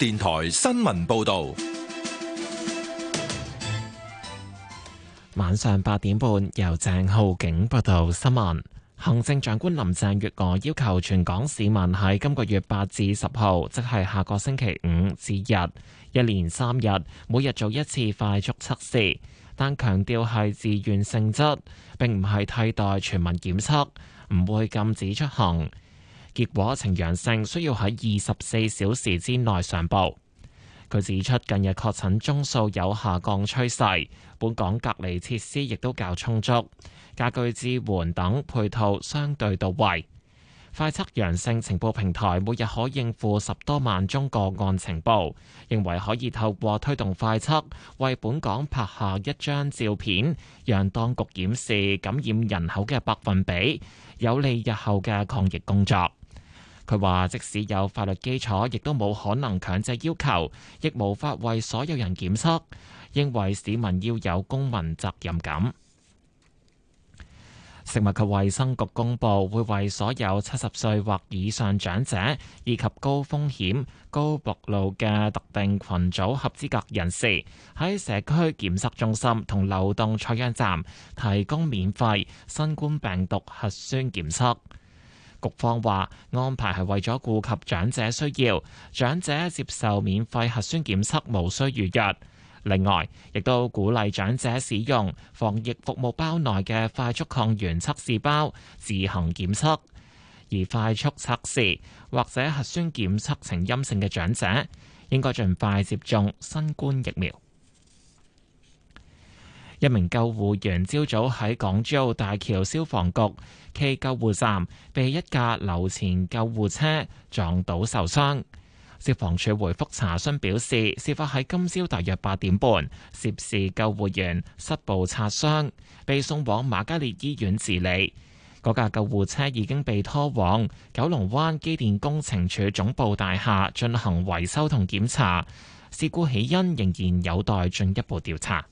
電台新聞報道。 晚上8點半，由鄭浩景報道新聞。行政長官林鄭月娥要求全港市民喺今個月8至10號，即係下個星期五至日，一連3日，每日做一次快速測試，但強調係自願性質，並唔係替代全民檢測，唔會禁止出行。結果呈陽性，需要喺24小時之內上報。佢指出，近日確診宗數有下降趨勢，本港隔離設施亦都較充足，家居支援等配套相對到位。快測陽性情報平台每日可應付10多萬宗個案情報，認為可以透過推動快測，為本港拍下一張照片，讓當局檢視感染人口嘅百分比，有利日後嘅抗疫工作。佢話：即使有法律基礎，亦都冇可能強制要求，亦無法為所有人檢測。認為市民要有公民責任感。食物及衛生局公佈會為所有70歲或以上長者以及高風險、高暴露嘅特定群組合資格人士，喺社區檢測中心同流動採樣站提供免費新冠病毒核酸檢測。局方話安排係為咗顧及長者需要，長者接受免費核酸檢測無需預約。另外，亦都鼓勵長者使用防疫服務包內嘅快速抗原測試包自行檢測。而快速測試或者核酸檢測呈陰性嘅長者，應該盡快接種新冠疫苗。一名救護員朝早喺港珠澳大橋消防局暨救護站被一架流前救護車撞倒受傷。消防處回覆查詢表示，事發喺今朝大約8點半，涉事救護員膝部擦傷，被送往瑪嘉烈醫院治理。嗰架救護車已經被拖往九龍灣機電工程署總部大廈進行維修同檢查，事故起因仍然有待進一步調查。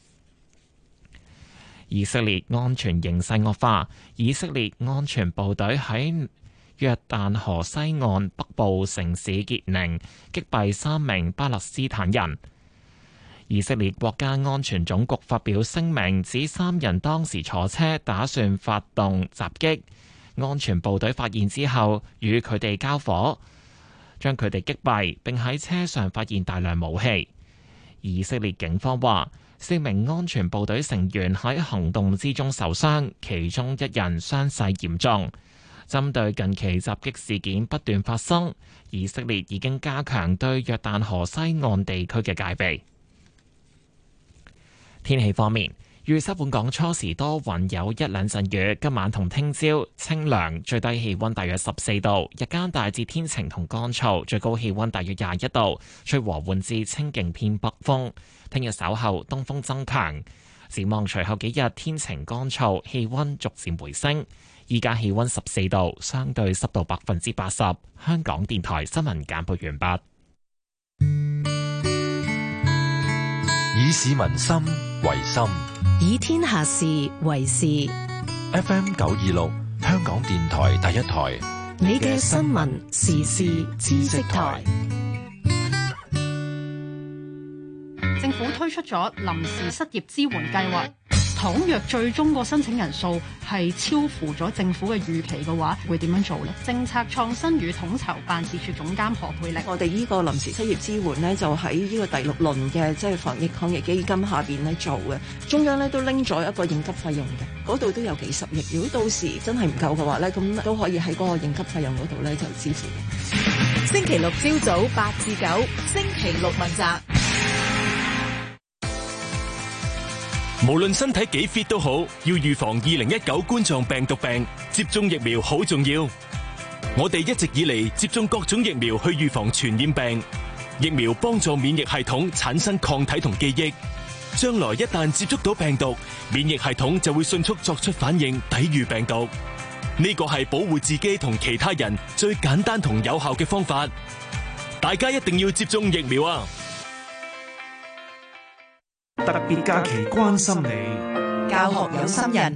以色列安全形勢惡化，以色列安全部隊喺約旦河西岸北部城市傑寧擊斃3名巴勒斯坦人。以色列國家安全總局發表聲明，指3人當時坐車打算發動襲擊，安全部隊發現之後與佢哋交火，將佢哋擊斃，並喺車上發現大量武器。以色列警方話，4名安全部隊成員喺行動之中受傷，其中1人傷勢嚴重。針對近期襲擊事件不斷發生，以色列已經加強對約旦河西岸地區嘅戒備。天氣方面，預測本港初時多雲，有1兩陣雨。今晚同聽朝清涼，最低氣溫大約14度，日間大致天晴同乾燥，最高氣溫大約21度，吹和緩至清勁偏北風。聽日稍後東風增強，展望隨後幾日天晴乾燥，氣溫逐漸回升。依家氣溫14度，相對濕度80%。香港電台新聞簡報完畢。 以市民心為心， 以天下事為事。 FM 926，香港電台第一台， 你嘅新聞時事知識台。 政府推出咗臨時失業支援計劃。倘若最終個申請人數係超乎咗政府嘅預期嘅話，會點樣做呢？政策創新與統籌辦事處總監何佩玲， 我哋呢個臨時失業支援呢，就喺呢個第6輪嘅即係防疫抗疫基金下邊咧做嘅。中央咧都拎咗一個應急費用嘅，嗰度都有幾十億。如果到時真係唔夠嘅話咧，咁都可以喺嗰個應急費用嗰度咧就支付。 星期六朝早8至9，星期六問責。 無論身體幾 fit 都好，要預防2019冠狀病毒病，接種疫苗好重要。我哋一直以嚟接種各種疫苗去預防傳染病，疫苗幫助免疫系統產生抗體同記憶，將來一旦接觸到病毒，免疫系統就會迅速作出反應，抵禦病毒。呢個係保護自己同其他人最簡單同有效嘅方法。大家一定要接種疫苗啊！ 特別假期關心你， 教學有心人，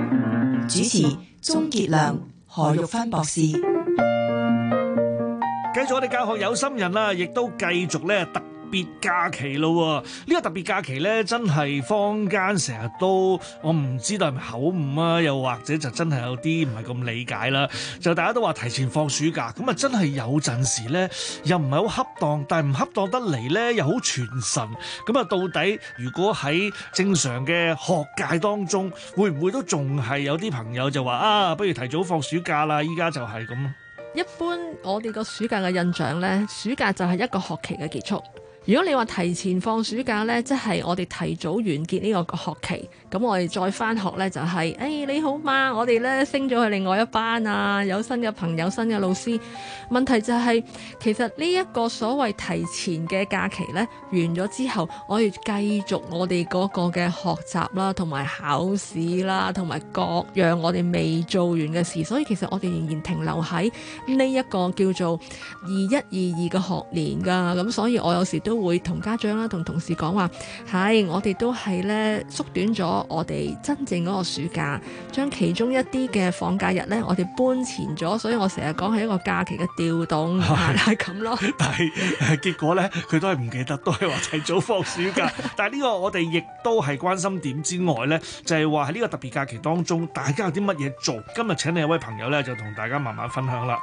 主持鍾傑良、何玉芬博士。 繼續我哋教學有心人啦，亦都繼續咧特別假期咯。呢個特別假期咧，真係坊間成日都，我唔知道係咪口誤啊，又或者就真係有啲唔係咁理解啦。就大家都話提前放暑假，咁啊真係有陣時咧，又唔係好恰當，但係唔恰當得嚟咧，又好傳神。咁啊，到底如果喺正常嘅學界當中，會唔會都仲係有啲朋友就話啊，不如提早放暑假啦？依家就係咁。 一般我哋個暑假嘅印象呢，暑假就係一個學期嘅結束。如果你話提前放暑假呢，即係我哋提早完結呢個學期，咁我哋再返學呢，就係，你好嘛，我哋呢升咗去另外一班啊，有新嘅朋友、新嘅老師。問題就係，其實呢一個所謂提前嘅假期呢，完咗之後，我哋繼續我哋嗰個嘅學習啦，同埋考試啦，同埋各樣我哋未做完嘅事，所以其實我哋仍然停留喺呢一個叫做21-22嘅學年㗎。咁所以我有時都會同家長啦、同同事講話，係我哋都係咧縮短咗我哋真正嗰個暑假，將其中一啲嘅放假日咧，我哋搬前咗，所以我成日講係一個假期嘅調動，係咁咯。 但係結果咧，佢都係唔記得，都係話提早放暑假。但係呢個我哋亦都係關心點之外咧，就係話喺呢個特別假期當中，大家有啲乜嘢做？今日請你一位朋友咧，就同大家慢慢分享啦。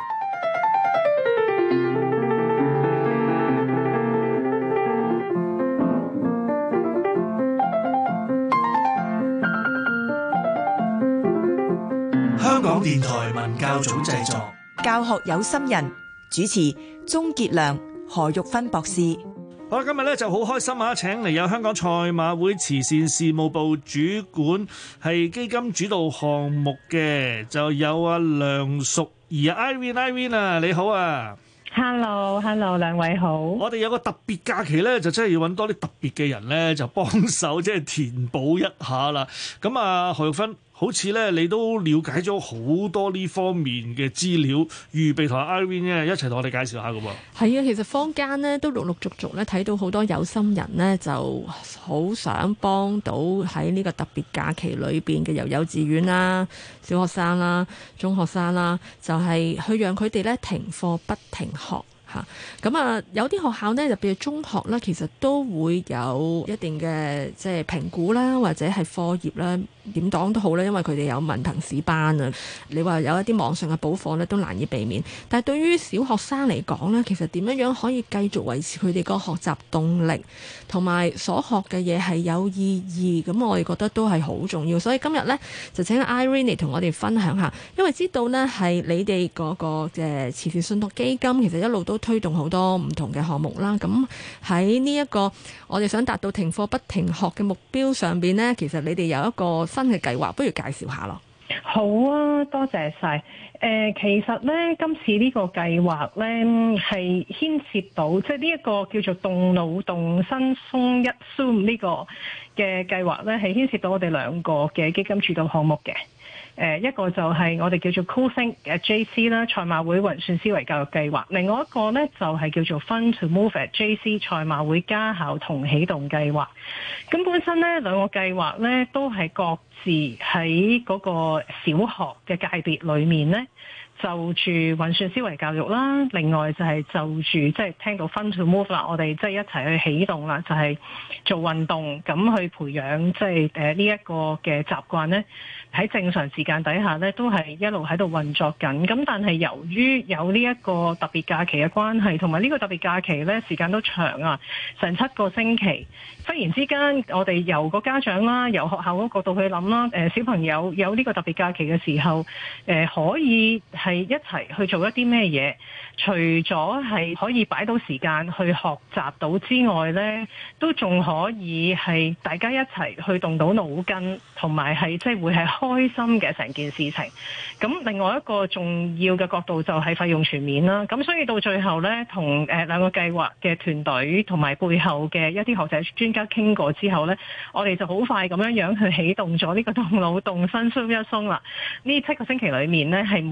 香港電台文教組製作， 教學有心人，主持鍾傑良、何玉芬博士。 好啦，今日咧就好開心啊！請嚟有香港賽馬會慈善事務部主管，係基金主導項目嘅，就有阿梁淑儀 Irene 啊，你好啊！ Hello， 兩位好。我哋有個特別假期咧，就真係要揾多啲特別嘅人咧，就幫手即係填補一下啦。咁啊，何玉芬，好似咧你都了解咗好多呢方面嘅資料，預備同 Irene 咧一齊同我哋介紹下㗎喎。 係啊，其實坊間咧都陸陸續續咧睇到好多有心人咧，就好想幫到喺呢個特別假期裏邊嘅由幼稚園啦、小學生啦、中學生啦，就係去讓佢哋咧停課不停學。咁啊，有啲學校呢，特別係中學啦，其實都會有一定嘅即係評估啦，或者係課業啦，點講都好啦，因為佢哋有文憑試班啊。你話有一啲網上嘅補課呢，都難以避免。但係對於小學生嚟講呢，其實點樣可以繼續維持佢哋個學習動力，同埋所學嘅嘢係有意義，咁我哋覺得都係好重要。所以今日呢，就請 Irene 嚟同我哋分享下，因為知道呢係你哋嗰個嘅慈善信託基金，其實一路都推動好多唔同嘅項目啦。咁喺呢一個我哋想達到停課不停學嘅目標上邊呢，其實你哋有一個新嘅計劃，不如介紹下咯。 好啊，多謝晒。其實呢，今次呢個計劃呢係牽涉到即係呢一個叫做動腦動身鬆一 Zoom 呢個嘅計劃呢，係牽涉到我哋兩個嘅基金主導項目嘅。一個就係我哋叫做 Cool Think 嘅 JC 啦，賽馬會運算思維教育計劃；另外一個呢，就係叫做 Fun to Move at JC 賽馬會家校同啟動計劃。咁本身呢兩個計劃呢，都係各自喺嗰個小學嘅界別裏面呢，就住運算思維教育啦，另外就係就住即係聽到 Fun to Move 啦，我哋即係一齊去啟動啦，就係做運動咁去培養即係呢一個嘅習慣呢。喺正常時間底下呢，都係一路喺度運作緊。咁但係由於有呢一個特別假期嘅關係，同埋呢個特別假期呢時間都長啊，成7個星期。忽然之間，我哋由個家長啦，由學校嗰個角度去諗啦，小朋友有呢個特別假期嘅時候，可以係一齊去做一啲咩嘢？除咗係可以擺到時間去學習到之外呢，都仲可以係大家一齊去動到腦筋，同埋係即係會係開心嘅成件事情。咁另外一個重要嘅角度就係費用全面啦。咁所以到最後呢，同兩個計劃嘅團隊同埋背後嘅一啲學者專家傾過之後呢，我哋就好快咁樣去啟動咗呢個動腦動身鬆一鬆啦。呢7個星期裏面呢，係每一日嘅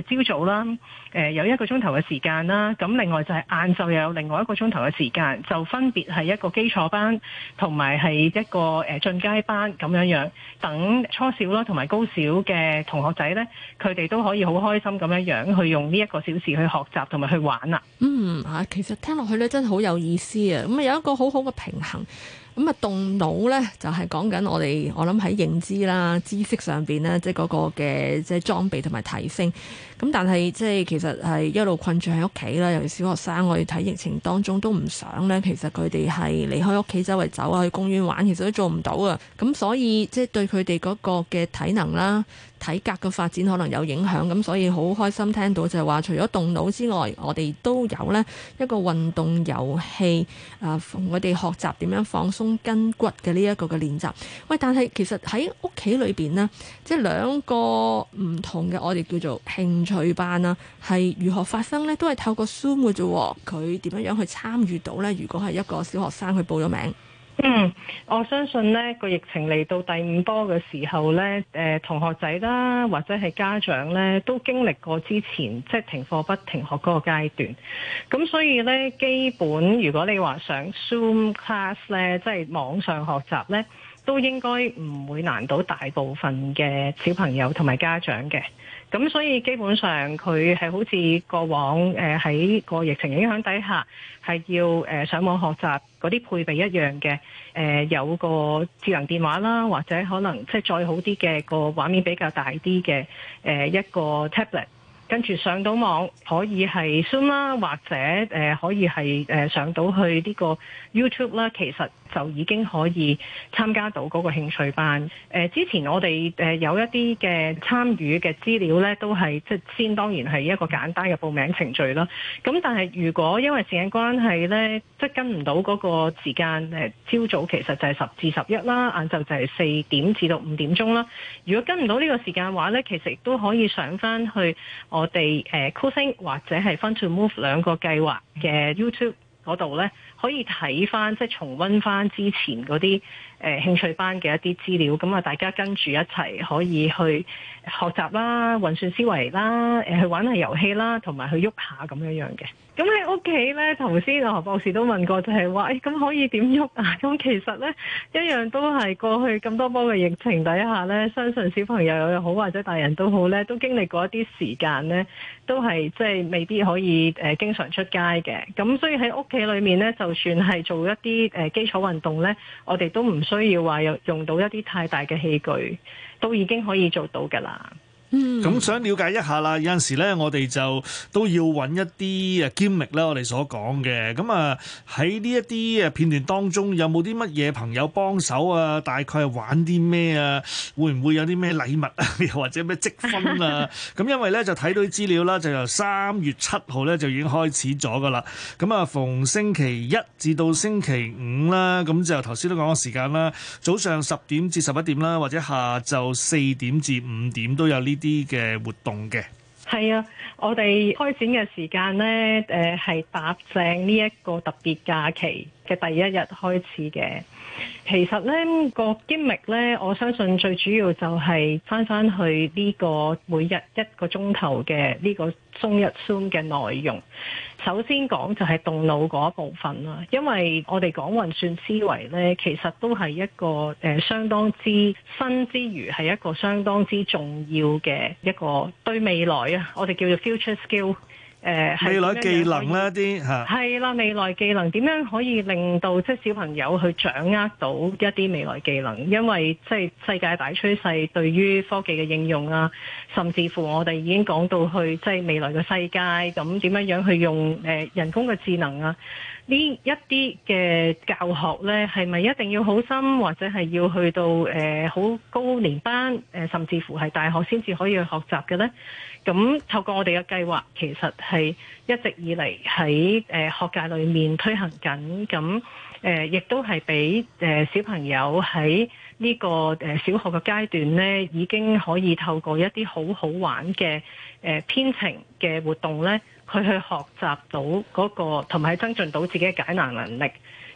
朝早啦，有1個鐘頭嘅時間啦，咁另外就係晏晝又有另外1個鐘頭嘅時間，就分別係一個基礎班同埋係一個進階班咁樣，等初小啦同埋高小嘅同學仔呢，佢哋都可以好開心咁樣去用呢1個小時去學習同埋去玩啦。 其實聽落去咧真係好有意思啊！咁啊有一個好好嘅平衡。咁啊，動腦咧就係講緊我諗喺認知啦、知識上邊咧，即係嗰個嘅即係裝備同埋提升。咁但係即係其實係一路困住喺屋企啦，尤其小學生，我哋睇疫情當中都唔想咧，其實佢哋係離開屋企周圍走啊，去公園玩，其實都做唔到啊。咁所以即係對佢哋嗰個嘅體能啦、體格嘅發展可能有影響。咁所以好開心聽到就係話，除咗動腦之外，我哋都有呢一個運動遊戲我哋學習點樣放鬆筋骨嘅呢一個嘅練習。喂，但係其實喺屋企裏邊呢，即係2個唔同嘅我哋叫做興趣班啦，係如何發生呢？都係透過 Zoom 嘅啫。佢點樣去參與到呢？如果係一個小學生去報咗名。 我相信呢個疫情嚟到第5波嘅時候呢，同學仔啦或者係家長呢都經歷過之前即係停課不停學嗰個階段，咁所以呢，基本如果你話上 Zoom class 呢，即係網上學習呢，都應該唔會難到大部分嘅小朋友同埋家長嘅。咁所以基本上佢係好似過往喺個疫情影響底下係要上網學習嗰啲配備一樣嘅，有個智能電話啦，或者可能即係再好啲嘅個畫面比較大啲嘅一個 tablet， 跟住上到網可以係 Zoom 啦，或者可以係上到去呢個 YouTube 啦，其實就已經可以參加到嗰個興趣班。之前我哋有一啲嘅參與嘅資料呢，都係即係先當然係一個簡單嘅報名程序啦。咁但係如果因為時間關係呢，即係跟唔到嗰個時間，朝早其實就係10至11啦，晏晝就係4點至到5點鐘啦。如果跟唔到呢個時間話呢，其實亦都可以上翻去我哋酷星或者係 Fun to Move 2個計劃嘅 YouTube 嗰度呢，可以睇翻即係重溫翻之前嗰啲興趣班嘅一啲資料，咁啊大家跟住一齊可以去學習啦、運算思維啦、去玩下遊戲啦，同埋去喐下咁樣嘅。咁喺屋企呢，頭先何博士都問過就係話，咁可以點喐啊？咁其實呢，一樣都係過去咁多波嘅疫情底下呢，相信小朋友又好或者大人都好呢，都經歷過一啲時間呢，都係即係未必可以經常出街嘅。咁所以喺屋企裏面呢，就算係做一啲基礎運動呢，我哋都唔需要話用到一啲太大嘅器具，都已經可以做到㗎啦。 咁想了解一下啦，有陣時咧，我哋就都要揾一啲gimmick啦，我哋所講嘅。咁啊喺呢一啲片段當中，有冇啲乜嘢朋友幫手啊？大概係玩啲咩啊？會唔會有啲咩禮物啊？又或者咩積分啊？咁因為咧就睇到啲資料啦，就由3月7號咧就已經開始咗噶啦。咁啊，逢星期1至到星期5啦，咁就頭先都講個時間啦，早上10點至11點啦，或者下晝4點至5點都有呢啲嘅活動嘅。係啊，我哋開展嘅時間呢，係搭正呢一個特別假期嘅第一日開始嘅。其實呢個 gimmick 呢，我相信最主要就係翻去呢個每日1個鐘頭嘅呢個中一 Zoom 嘅內容。首先講就係動腦嗰部分啦，因為我哋講運算思維呢，其實都係一個相當之新之餘係一個相當之重要嘅一個對未來啊，我哋叫做 future skill。未來技能啦啲嚇，係啦，未來技能點樣可以令到即係小朋友去掌握到一啲未來技能？因為即係世界大趨勢對於科技嘅應用啊，甚至乎我哋已經講到去即係未來嘅世界，咁點樣去用人工嘅智能啊？呢一啲嘅教學呢，係咪一定要好深，或者係要去到好高年班甚至乎係大學先至可以去學習嘅呢？咁透過我哋嘅計劃，其實係一直以嚟喺學界裏面推行緊，咁亦都係俾小朋友喺呢個小學嘅階段呢，已經可以透過一啲好好玩嘅編程嘅活動呢，佢去學習到嗰個同埋增進到自己嘅解難能力。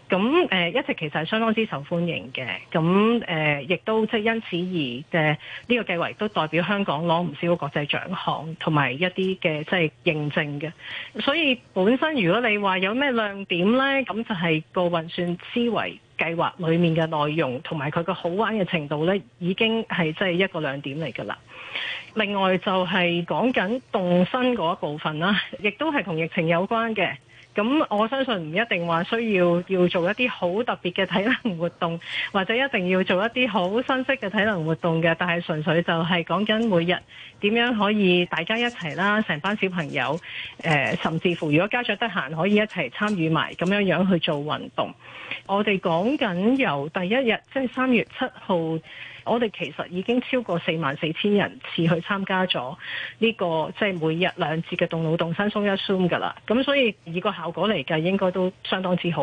咁一直其實係相當之受歡迎嘅，咁亦都即係因此而呢個計劃亦都代表香港攞唔少國際獎項同埋一啲嘅即係認證嘅。所以本身如果你話有咩亮點呢，咁就係個運算思維計劃裡面嘅內容同埋佢個好玩嘅程度呢，已經係即係一個亮點嚟㗎啦。另外就係講緊動身嗰一部分啦，亦都係同疫情有關嘅。咁我相信唔一定話需要做一啲好特別嘅體能活動，或者一定要做一啲好新式嘅體能活動嘅，但係純粹就係講緊每日點樣可以大家一齊啦，成班小朋友，甚至乎如果家長得閒可以一齊參與埋咁樣去做運動。我哋講緊由第一日即係3月7號，我哋其實已經超過44,000人次去參加咗呢個即係每日2節嘅動腦動身鬆一 Zoom 㗎啦。咁所以以個效果嚟計，應該都相當之好。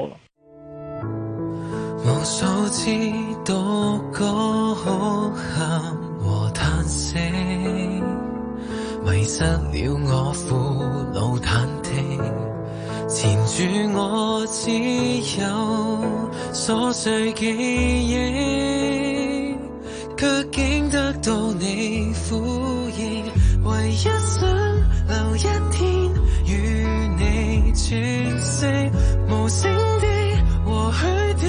無數次獨個哭喊和嘆息，迷失了我父老忐忑，纏住我只有瑣碎記憶，卻竟得到你呼應，唯一想留一天與你喘息，無聲的和虛的，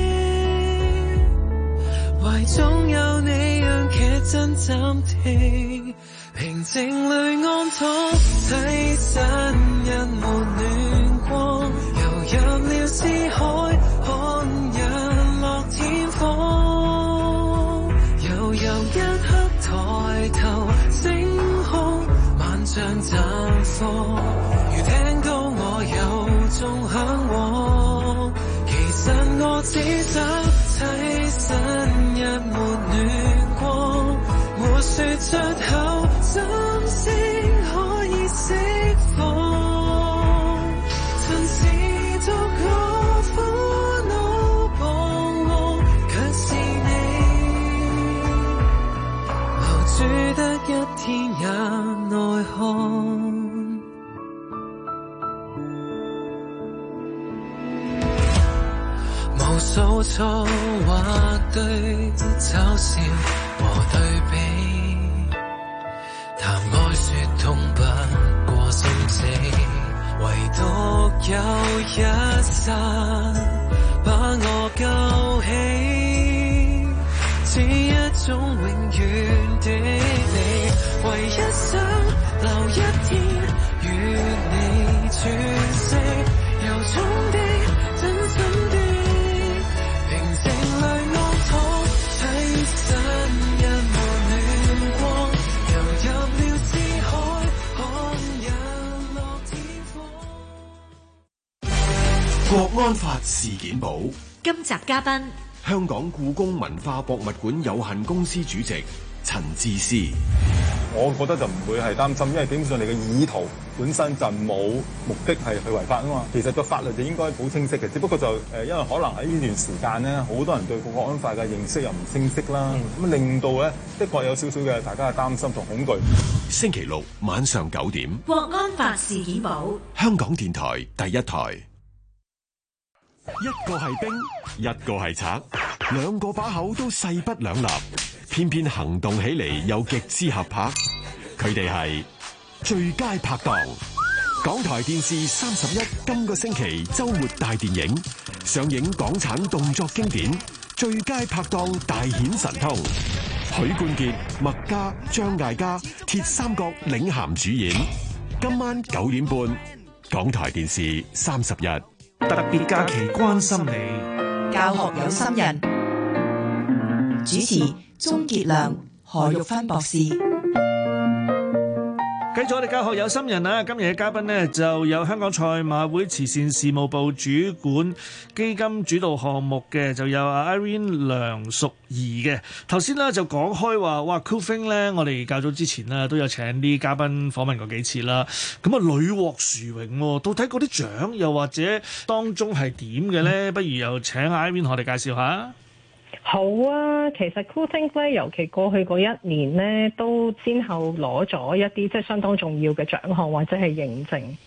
懷中有你讓劇真暫停，平靜裏安躺，棲身一抹暖光，游入了思海，看日落天荒，悠悠一刻抬頭星空，萬象綻放，如聽到我有種向往，其實我只想棲身一抹暖光，沒說出口，心聲可以釋放，曾是獨個苦惱彷徨，卻是你留住得一天也內看。無數錯或對嘲笑和對比，談愛說痛不過心死，唯獨有一剎把我救起，似一種永遠的你，唯一想留一天與你喘息，由衷的真心的國安法事件簿今集嘉賓， 香港故宮文化博物館有限公司主席陳智思。 我覺得就唔會係擔心，因為基本上你嘅意圖本身就冇目的係去違法啊嘛。其實個法律就應該好清晰嘅，只不過就因為可能喺呢段時間咧，好多人對國安法嘅認識又唔清晰啦，咁令到咧的確有少少嘅大家嘅擔心同恐懼。 星期六晚上9點， 國安法事件簿， 香港電台第一台。一個係兵，一個係賊，兩個把口都勢不兩立，偏偏行動起嚟又極之合拍。佢哋係最佳拍檔。港台電視31今個星期周末大電影上映港產動作經典《最佳拍檔大顯神通》，許冠傑、麥嘉、張艾嘉鐵三角領銜主演。今晚9點半，港台電視31。 特別假期關心你， 教學有心人，主持鍾傑良、何玉芬博士。 繼續我哋教學有心人啊！今日嘅嘉賓呢，就有香港賽馬會慈善事務部主管基金主導項目嘅，就有 Irene 梁淑儀嘅。頭先呢，就講開話，哇 Coolthing 咧，我哋較早之前呢，都有請啲嘉賓訪問過幾次啦。咁啊，屢獲殊榮喎，到底嗰啲獎又或者當中係點嘅咧？不如又請 Irene 同我哋介紹下。 好啊，其實 Coolthink 咧，尤其過去嗰一年咧，都先後攞咗一啲即係相當重要嘅獎項或者係認證。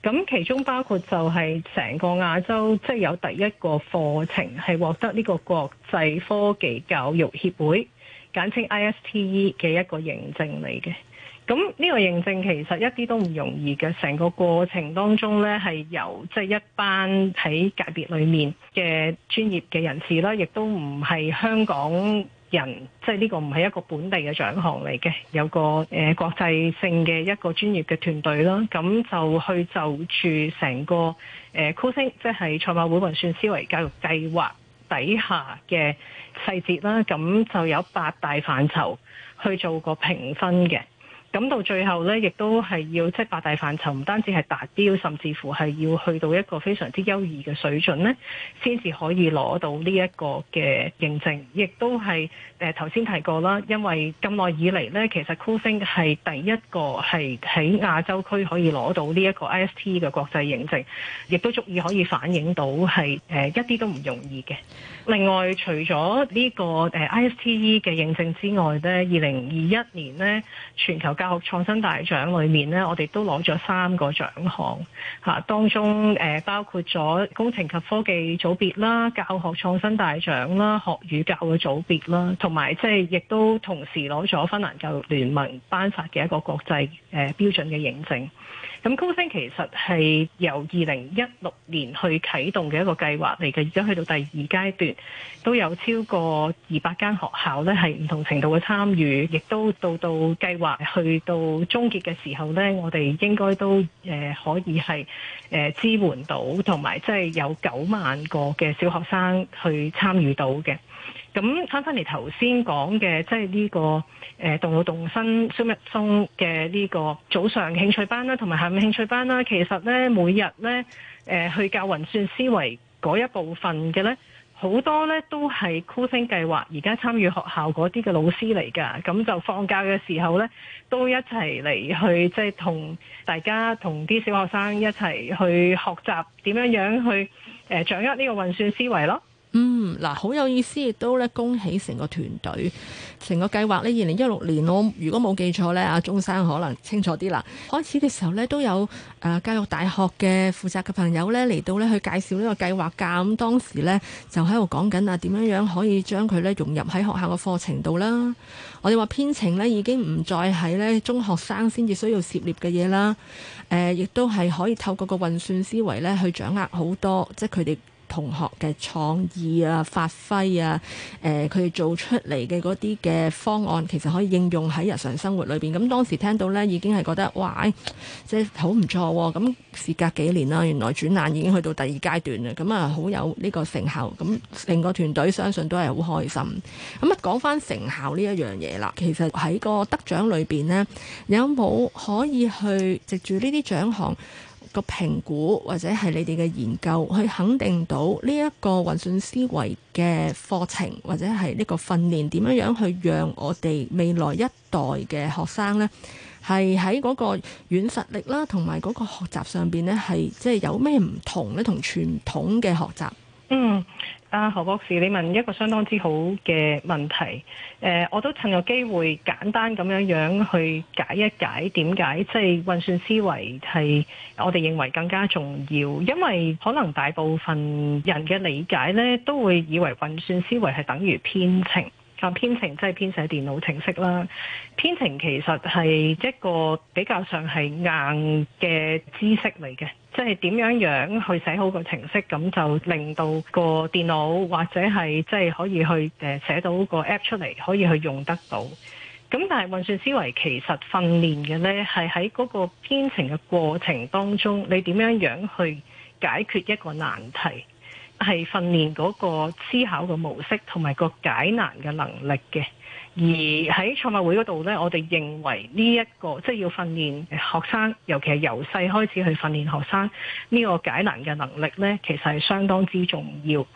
咁其中包括就係成個亞洲即係有第一個課程係獲得呢個國際科技教育協會簡稱 ISTE 嘅一個認證嚟嘅。咁呢個認證其實一啲都唔容易嘅，成個過程當中呢，係由即係一班喺界別裏面嘅專業嘅人士啦，亦都唔係香港人，即係呢個唔係一個本地嘅獎項嚟嘅，有個國際性嘅一個專業嘅團隊啦，咁就去就住成個CoolThink，即係賽馬會運算思維教育計劃底下嘅細節啦，咁就有8大範疇去做個評分嘅。咁到最後呢，亦都係要即係8大範疇，唔單止係達標，甚至乎係要去到一個非常之優異嘅水準呢，先至可以攞到呢一個嘅認證。亦都係頭先提過啦，因為咁耐以嚟呢，其實 CoolThink 係第一個係喺亞洲區可以攞到呢一個 ISTE 嘅國際認證，亦都足以可以反映到係一啲都唔容易嘅。另外，除咗呢個ISTE 嘅認證之外呢，2021年呢，全球教學創新大獎裏面呢，我哋都攞咗3個獎項嚇，當中包括咗工程及科技組別啦、教學創新大獎啦、學與教嘅組別啦，同埋即係亦都同時攞咗芬蘭教育聯盟頒發嘅一個國際標準嘅認證。咁CoolThink其實係由2016年去啟動嘅一個計劃嚟嘅，而家去到第2階段，都有超過200間學校咧係唔同程度嘅參與，亦都到計劃去到終結嘅時候咧，我哋應該都可以係支援到，同埋即係有9萬個嘅小學生去參與到嘅。咁翻嚟頭先講嘅，即係呢個動腦動身 Zoom 一 Zoom 嘅呢個早上興趣班啦，同埋下午興趣班啦，其實咧每日咧去教運算思維嗰一部分嘅咧，好多咧都係 CoolThink 計劃而家參與學校嗰啲嘅老師嚟㗎，咁就放假嘅時候咧，都一齊嚟去即係同大家同啲小學生一齊去學習點樣去掌握呢個運算思維咯。 嗱，好有意思，亦都咧恭喜成個團隊，成個計劃呢2016年，我如果冇記錯呢，阿鐘生可能清楚啲啦。開始嘅時候呢，都有教育大學嘅負責嘅朋友呢嚟到呢去介紹呢個計劃㗎。咁當時呢，就喺度講緊點樣可以將佢呢融入喺學校嘅課程度啦。我哋話編程呢已經唔再係呢中學生先至需要涉獵嘅嘢啦。亦都係可以透過個運算思維呢去掌握好多，即係佢哋同學嘅創意啊、發揮啊，佢哋做出嚟嘅嗰啲嘅方案，其實可以應用喺日常生活裏邊。咁當時聽到呢，已經係覺得哇，即係好唔錯喎。咁事隔幾年啦，原來轉眼已經去到第2階段啦。咁啊，好有呢個成效。咁成個團隊相信都係好開心。咁啊，講翻成效呢一樣嘢啦，其實喺個得獎裏邊呢，有冇可以去藉住呢啲獎項個評估或者係你哋嘅研究去肯定到呢一個運算思維嘅課程或者係呢個訓練點樣去讓我哋未來一代嘅學生呢，係喺嗰個軟實力啦，同埋嗰個學習上邊呢，係即係有咩唔同呢？同傳統嘅學習。 何博士，你問一個相當之好嘅問題，我都趁個機會簡單咁樣去解一解點解即係運算思維係我哋認為更加重要，因為可能大部分人嘅理解呢，都會以為運算思維係等於編程。編程即係編寫電腦程式啦。編程其實係一個比較上係硬嘅知識嚟嘅，即係點樣去寫好個程式，咁就令到個電腦或者係即係可以去寫到個 app 出嚟，可以去用得到。咁但係運算思維其實訓練嘅呢，係喺嗰個編程嘅過程當中，你點樣去解決一個難題。係訓練嗰個思考嘅模式同埋個解難嘅能力嘅，而喺賽馬會嗰度呢，我哋認為呢一個即係要訓練學生，尤其係由細開始去訓練學生呢個解難嘅能力呢，其實係相當之重要。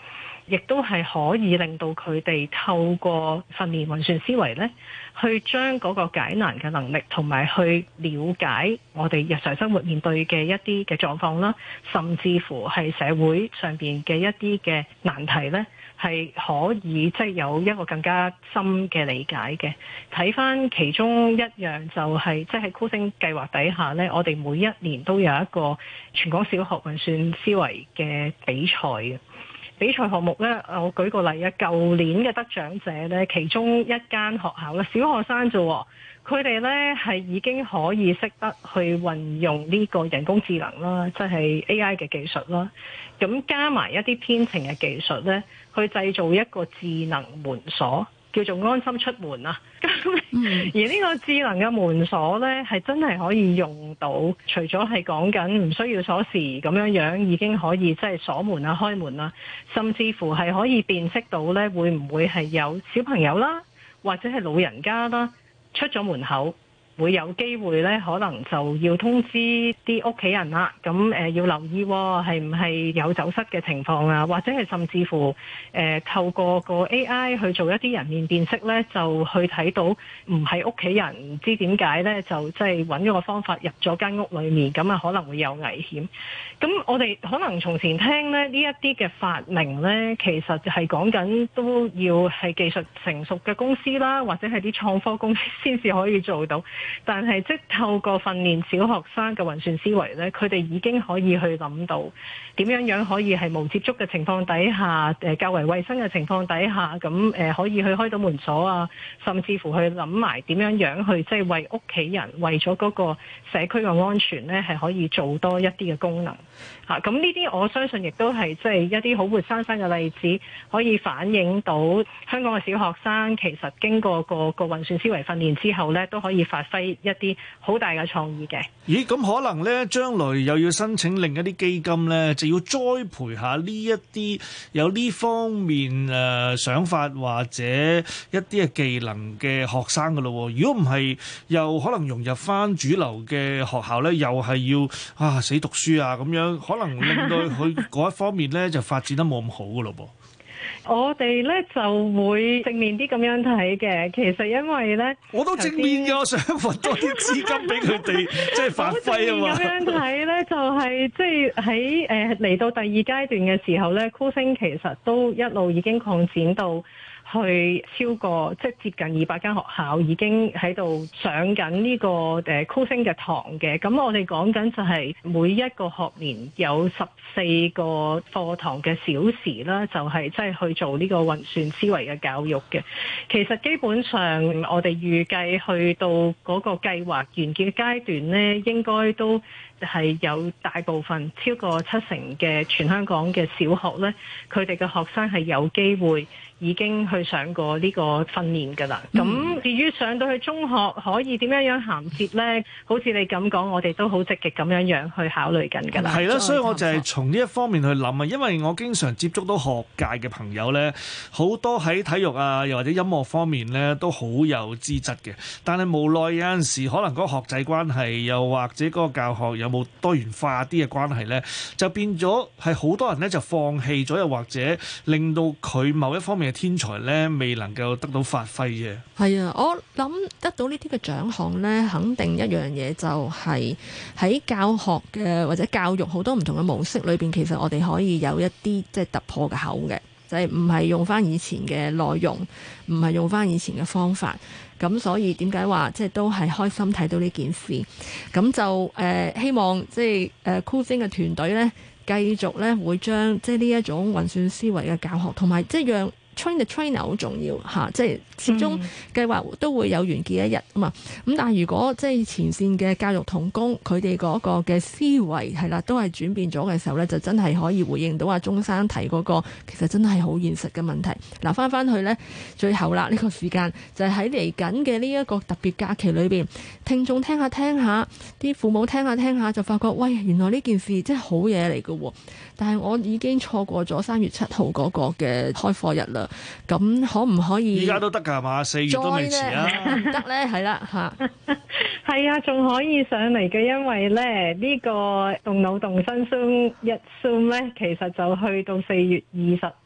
亦都係可以令到佢哋透過訓練運算思維咧，去將嗰個解難嘅能力同埋去了解我哋日常生活面對嘅一啲嘅狀況啦，甚至乎係社會上邊嘅一啲嘅難題咧，係可以即係有一個更加深嘅理解嘅。睇翻其中一樣就係即係喺酷星計劃底下咧，我哋每一年都有一個全港小學運算思維嘅比賽嘅。比賽項目咧，我舉個例啊，舊年嘅得獎者咧，其中一間學校咧，小學生啫喎，佢哋咧係已經可以識得去運用呢個人工智能啦，即係 AI 嘅技術啦，咁加埋一啲編程嘅技術咧，去製造一個智能門鎖，叫做安心出門啊！而呢個智能嘅門鎖呢，係真係可以用到，除咗係講緊唔需要鎖匙咁樣已經可以即係鎖門啊、開門啊，甚至乎係可以辨識到呢會唔會係有小朋友啦，或者係老人家啦出咗門口，會有機會咧，可能就要通知啲屋企人啦。咁要留意係唔係有走失嘅情況啊？或者係甚至乎透過個 AI 去做一啲人面辨識咧，就去睇到唔係屋企人，唔知點解咧，就即係揾咗個方法入咗間屋裏面，咁啊可能會有危險。咁我哋可能從前聽咧呢一啲嘅發明咧，其實係講緊都要係技術成熟嘅公司啦，或者係啲創科公司先至可以做到。但係即透過訓練小學生嘅運算思維咧，佢哋已經可以去諗到點樣可以係無接觸嘅情況底下，較為衛生嘅情況底下，咁可以去開到門鎖啊，甚至乎去諗埋點樣去即係為屋企人為咗嗰個社區嘅安全咧，係可以做多一啲嘅功能嚇。咁呢啲我相信亦都係即係一啲好活生生嘅例子，可以反映到香港嘅小學生其實經過個運算思維訓練之後咧，都可以發揮一啲好大嘅創意嘅。 咦，咁可能咧，將來又要申請另一啲基金咧，就要栽培下呢一啲有呢方面想法或者一啲嘅技能嘅學生噶咯。如果唔係，又可能融入翻主流嘅學校咧，又係要死讀書啊咁樣，可能令到佢嗰一方面咧就發展得冇咁好噶咯噃。 我哋咧就會正面啲咁樣睇嘅，其實因為咧， 我都正面嘅，我想揾多啲資金俾佢哋，即係發揮啊嘛。 咁樣睇咧，就係即係喺嚟到第二階段嘅時候咧，酷星其實都一路已經擴展到去超過即係接近200間學校已經喺度上緊呢個酷星嘅堂嘅。咁我哋講緊就係每一個學年有14個課堂嘅小時啦，就係即係去做呢個運算思維嘅教育嘅。其實基本上我哋預計去到嗰個計劃完結嘅階段呢，應該都係有大部分超過70%嘅全香港嘅小學呢，佢哋嘅學生係有機會已經去上過呢個訓練㗎啦。咁至於上到去中學可以點樣銜接呢？好似你咁講，我哋都好積極咁樣去考慮緊㗎啦。 係啦，所以我就係從呢一方面去諗啊，因為我經常接觸到學界嘅朋友呢，好多喺體育啊，又或者音樂方面呢，都好有資質嘅。但係無奈有陣時可能嗰個學制關係，又或者嗰個教學有冇多元化啲嘅關係呢，就變咗係好多人呢就放棄咗，又或者令到佢某一方面嘅天才呢未能夠得到發揮嘅。 係啊，我諗得到呢啲嘅獎項呢，肯定一樣嘢就係喺教學嘅或者教育好多唔同嘅模式裏邊，其實我哋可以有一啲即係突破嘅口嘅，就係唔係用翻以前嘅內容，唔係用翻以前嘅方法。咁所以點解話即係都係開心睇到呢件事？咁就希望即係酷星嘅團隊呢，繼續呢會將即係呢一種運算思維嘅教學，同埋即係讓train the trainer 好重要嚇，即係始終計劃都會有完結一日啊嘛。咁但係如果即係前線嘅教育同工，佢哋嗰個嘅思維係啦，都係轉變咗嘅時候咧，就真係可以回應到阿鍾生提嗰個其實真係好現實嘅問題。嗱，翻去咧，最後啦，呢個時間就係喺嚟緊嘅呢一個特別假期裏邊，聽眾聽下，啲父母聽下，就發覺喂，原來呢件事真係好嘢嚟嘅喎。但係我已經錯過咗3月7號嗰個嘅開課日啦。咁可唔可以？ 依家都得㗎係嘛？4月都未遲啊！ 唔得咧，係啦嚇， 係啊，仲可以上嚟嘅，因為咧呢個動腦動身 Zoom 咧，其實就去到4月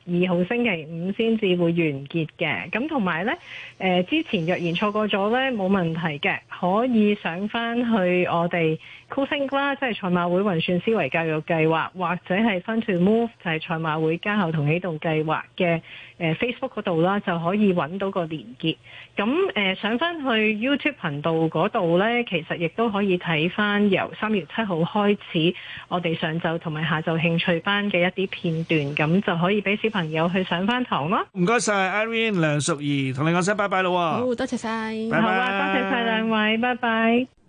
號星期五先至會完結嘅。咁同埋呢，之前若然錯過咗呢，冇問題嘅，可以上翻去我哋 CoolThink 啦，即係賽馬會運算思維教育計劃，或者係 Fun to Move 就係賽馬會家校同啟動計劃嘅Facebook 嗰度啦，就可以揾到個連結。咁上翻去 YouTube 頻道嗰度呢，其實亦都可以睇翻由3月7號開始，我哋上晝同埋下晝興趣班嘅一啲片段，咁就可以俾小朋友去上翻堂咯。 唔該晒 Irene 梁淑儀，同你講聲拜拜咯。 好，多謝晒， 好啊，多謝晒兩位，拜拜。